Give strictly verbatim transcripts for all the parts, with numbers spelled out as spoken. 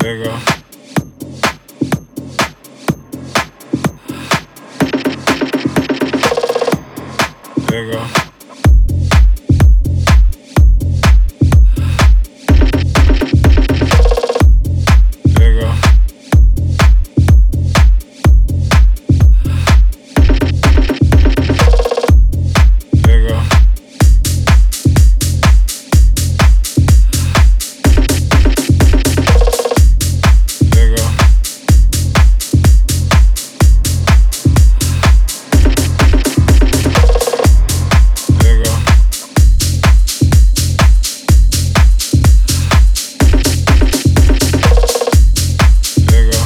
There you go. There you go. There you go. There you go. There you go. There you go. There you go.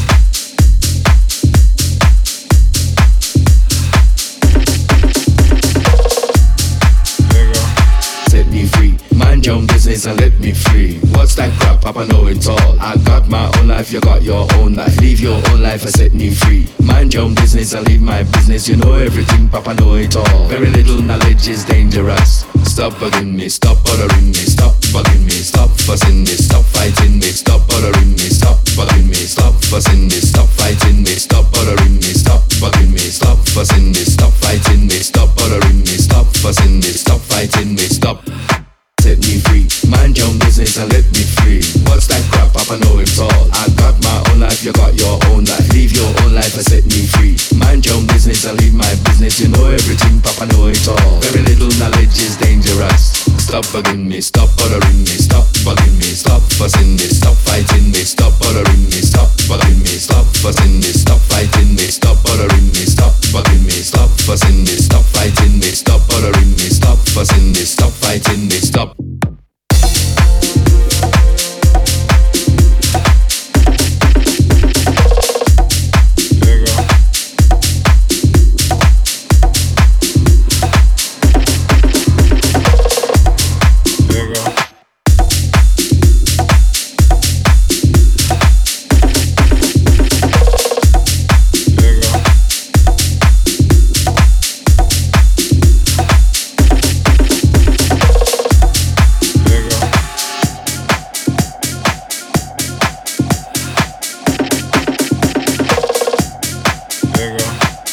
There you go. Set me free, mind your own business and let me free. What's that crap, Papa know it all. I got my own life, you got your own life. Live your own life and set me free. Mind your own business and leave my business. You know everything, Papa know it all. Very little knowledge is dangerous. Stop bugging me, stop bothering me, stop bugging me, stop fussing me, stop fighting me, stop bothering me, stop bugging me, stop fussing me, stop fighting me, stop bothering me, stop bugging me, stop fussing me, stop fighting me, stop bothering me, stop fussing me, stop fighting me, stop. Set me free, mind your own business and let me free. What's that crap, Papa know it all. I got my own life, you got your own life. Live your own life and set me free. Mind your own business and leave my business. You know everything, Papa know it all. Very little knowledge is dangerous. Stop bugging me, stop bothering me, stop bugging me, stop fussing me, stop fighting me, stop bothering me, stop bugging me, stop fussing me, stop fighting me, stop bothering me, stop bugging me, stop fussing me, stop fighting me, stop bothering me, stop fussing me, stop fighting me, stop. There you go. There you go. There you go. There you go. There you go.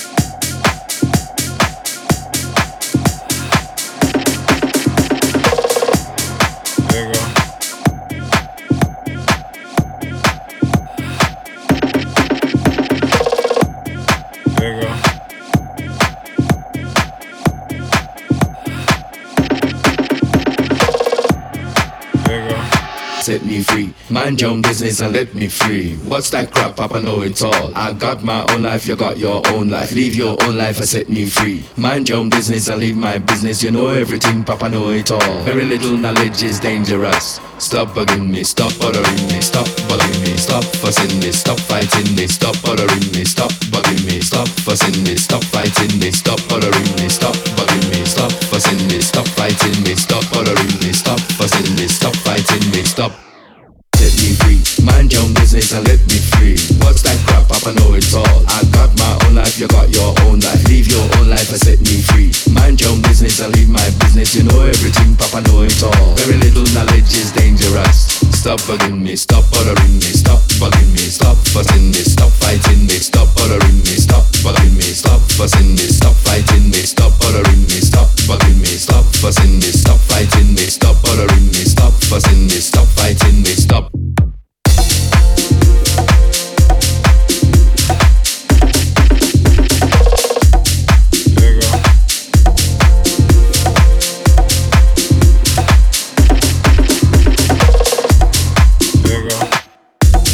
There you go. There you go. There you go. Set me free, mind your own business and let me free. What's that crap, Papa know it all. I got my own life, you got your own life. Live your own life and set me free. Mind your own business and leave my business. You know everything, Papa know it all. Very little knowledge is dangerous. Stop bugging me, stop bothering me, stop bugging me, stop fussing me, stop fighting me, stop bothering me, stop bugging me, stop fussing me, stop fighting me, stop bothering me, stop bugging me, stop fussing me, stop fighting me, stop bothering me, stop fussing me, stop fighting me, stop. Set me free, mind your own business and let me free. What's that crap, Papa know it all. I got my own life, you got your own life. Live your own life and set me free. Mind your own business and leave my business. You know everything, Papa know it all. Very little knowledge is dangerous. Stop bugging me, stop bothering me, stop bugging me, stop fussing me, stop fighting me, stop bothering me, stop bugging me, stop fussing me, stop fighting me, stop bothering me, stop bugging me, stop fussing me, stop fighting me, stop bothering me, stop fussing me, stop fighting me, stop. There you go. There you go.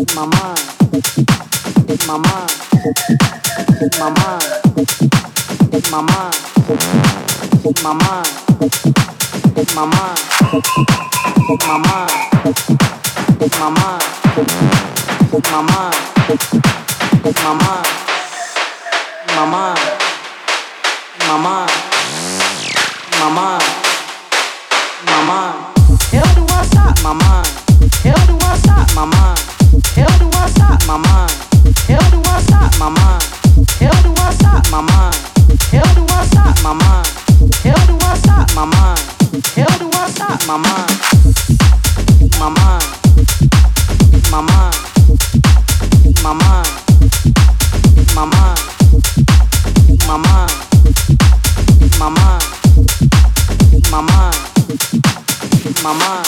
my mind, my mind, my mind, my mind, my mind, my mind, my mind, my mind, my mind, my mind, my mind, my mind, my mind, my mind. Hell do I stop my mind? Hell do I stop my mind? Hell do I stop my mind? Hell do I stop my mind? Hell do I stop my mind? Hell do I stop my mind? Hell do I stop my mind? Hell do I stop my mind? My mind, my mind, my mind, my mind, my mind, my mind, my mind, my mind.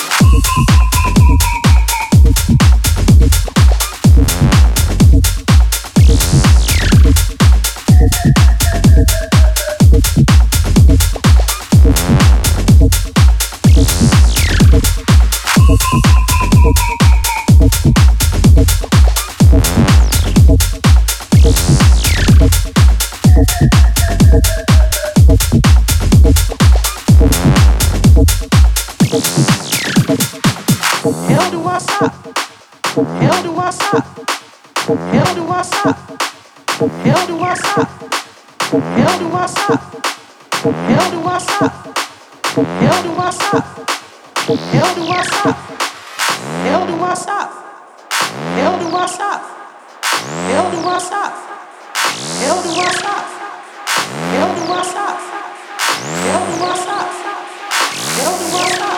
Hell do I stop? Hell do I stop? Hell do I stop? Hell do I stop? Hell do I stop? Hell do I stop? Hell do I stop? Hell do I stop? Hell do I stop? Hell do I stop? Hell do I stop? Hell do I stop? Hell do I stop? Hell do I stop? Hell do I stop?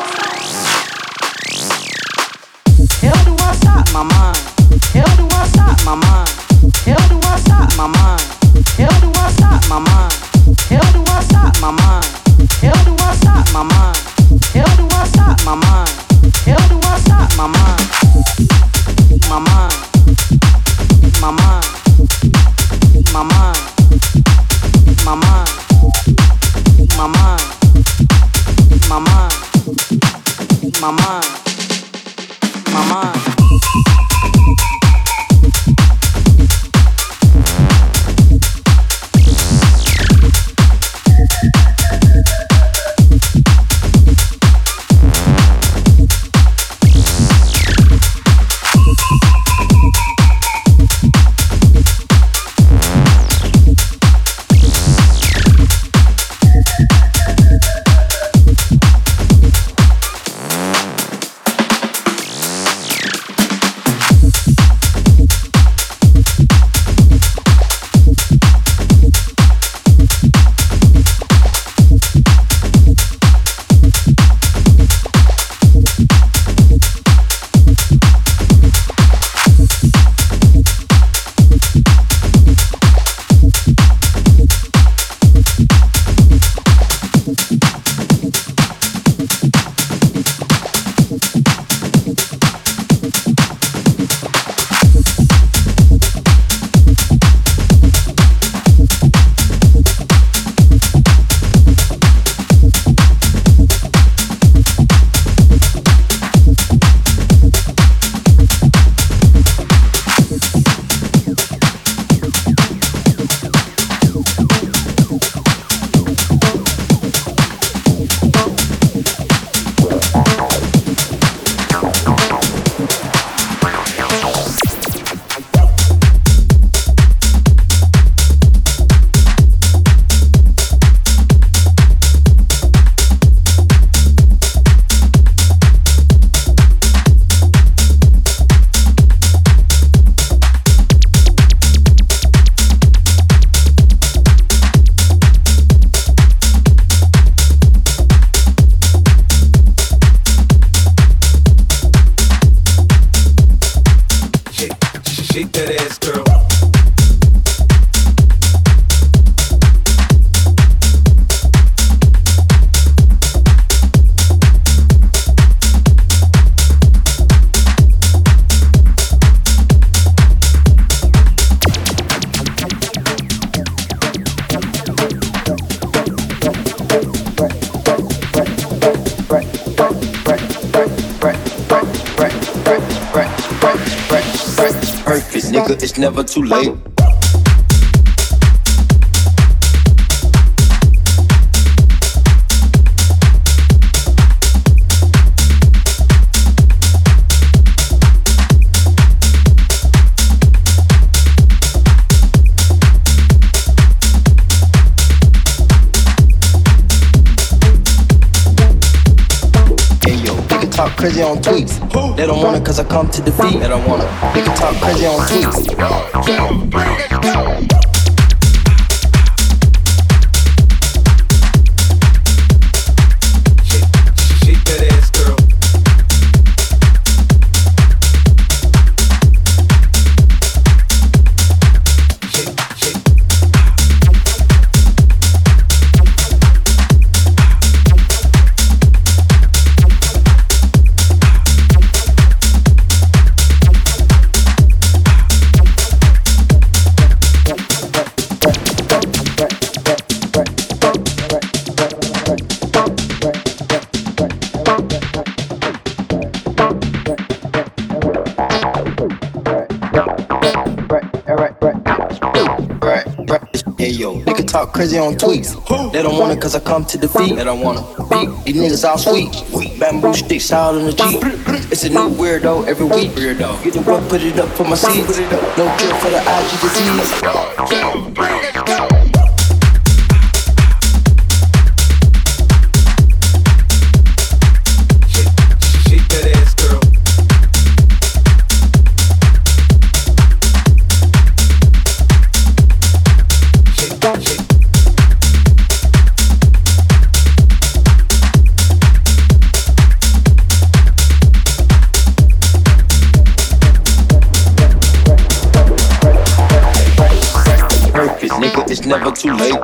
Hell do I stop my mind? Hell do I stop my mind? Hell do I stop my mind? Hell do I stop my mind? Hell do I stop my mind? Hell do I stop my mind? Hell do I stop my mind? Hell do I stop my mind? My mind, my mind, my mind, my mind, my mind, my mind, my mind, my mind. Perfect, nigga, it's never too late. Talk crazy on tweets. They don't want it cause I come to defeat. They don't want it. They can talk crazy on tweets. Shake that ass, girl. Shake, shake. They can talk crazy on tweets. They don't want it cause I come to defeat. They don't want to beat. These niggas all sweet. Bamboo sticks out in the Jeep. It's a new weirdo every week. Weirdo. Get the what, put it up for my seeds. No cure for the I G disease. Nigga, it's never too late.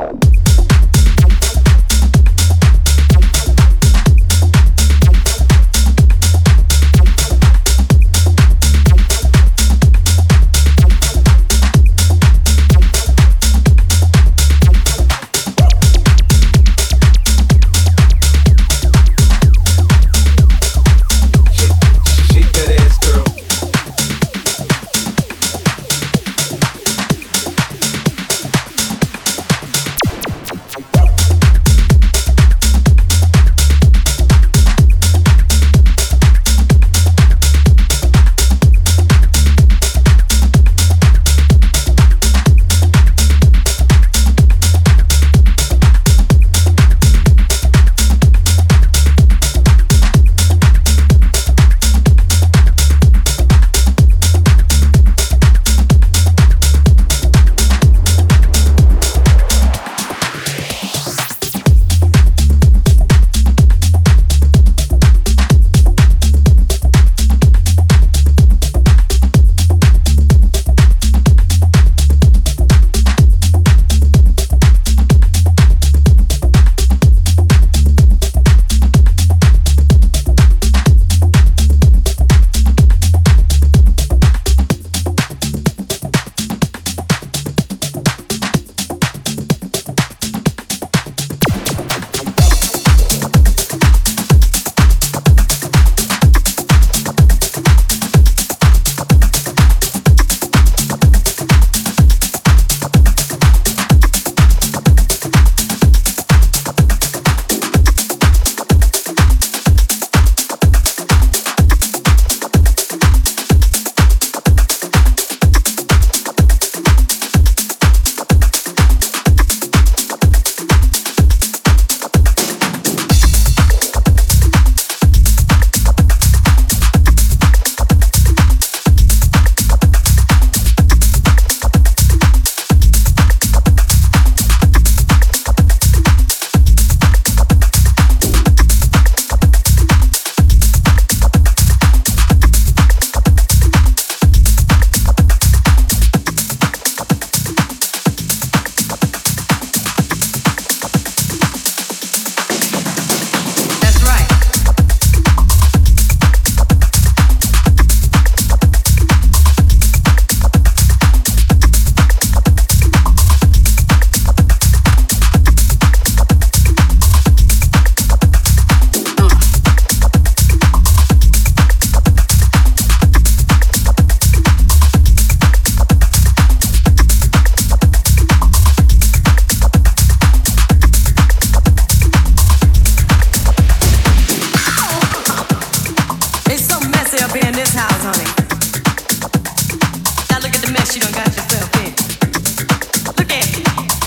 mess you done got yourself in. Look at me.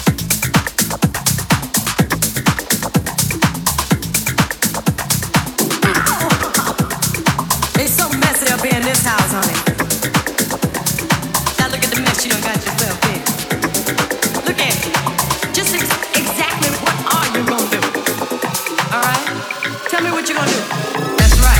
It's so messy up here in this house, honey. Now look at the mess you done got yourself in. Look at me. Just ex- exactly what are you gonna do? All right? Tell me what you're gonna do. That's right.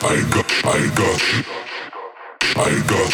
I got, I got, I got.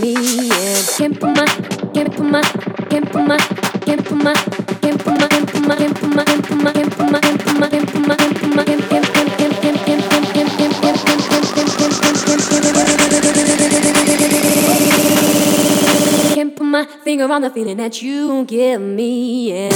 me in. Can't put my, can't put my, can't put my, can't put my, can't put my, can't put my, can't put my, can't put my, can't put my, can't put my, can't put my, can't put my, can't can't can't can't can't can't can't can't can't can't put my finger on the feeling that you give me in.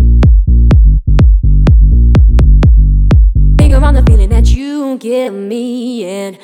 Give me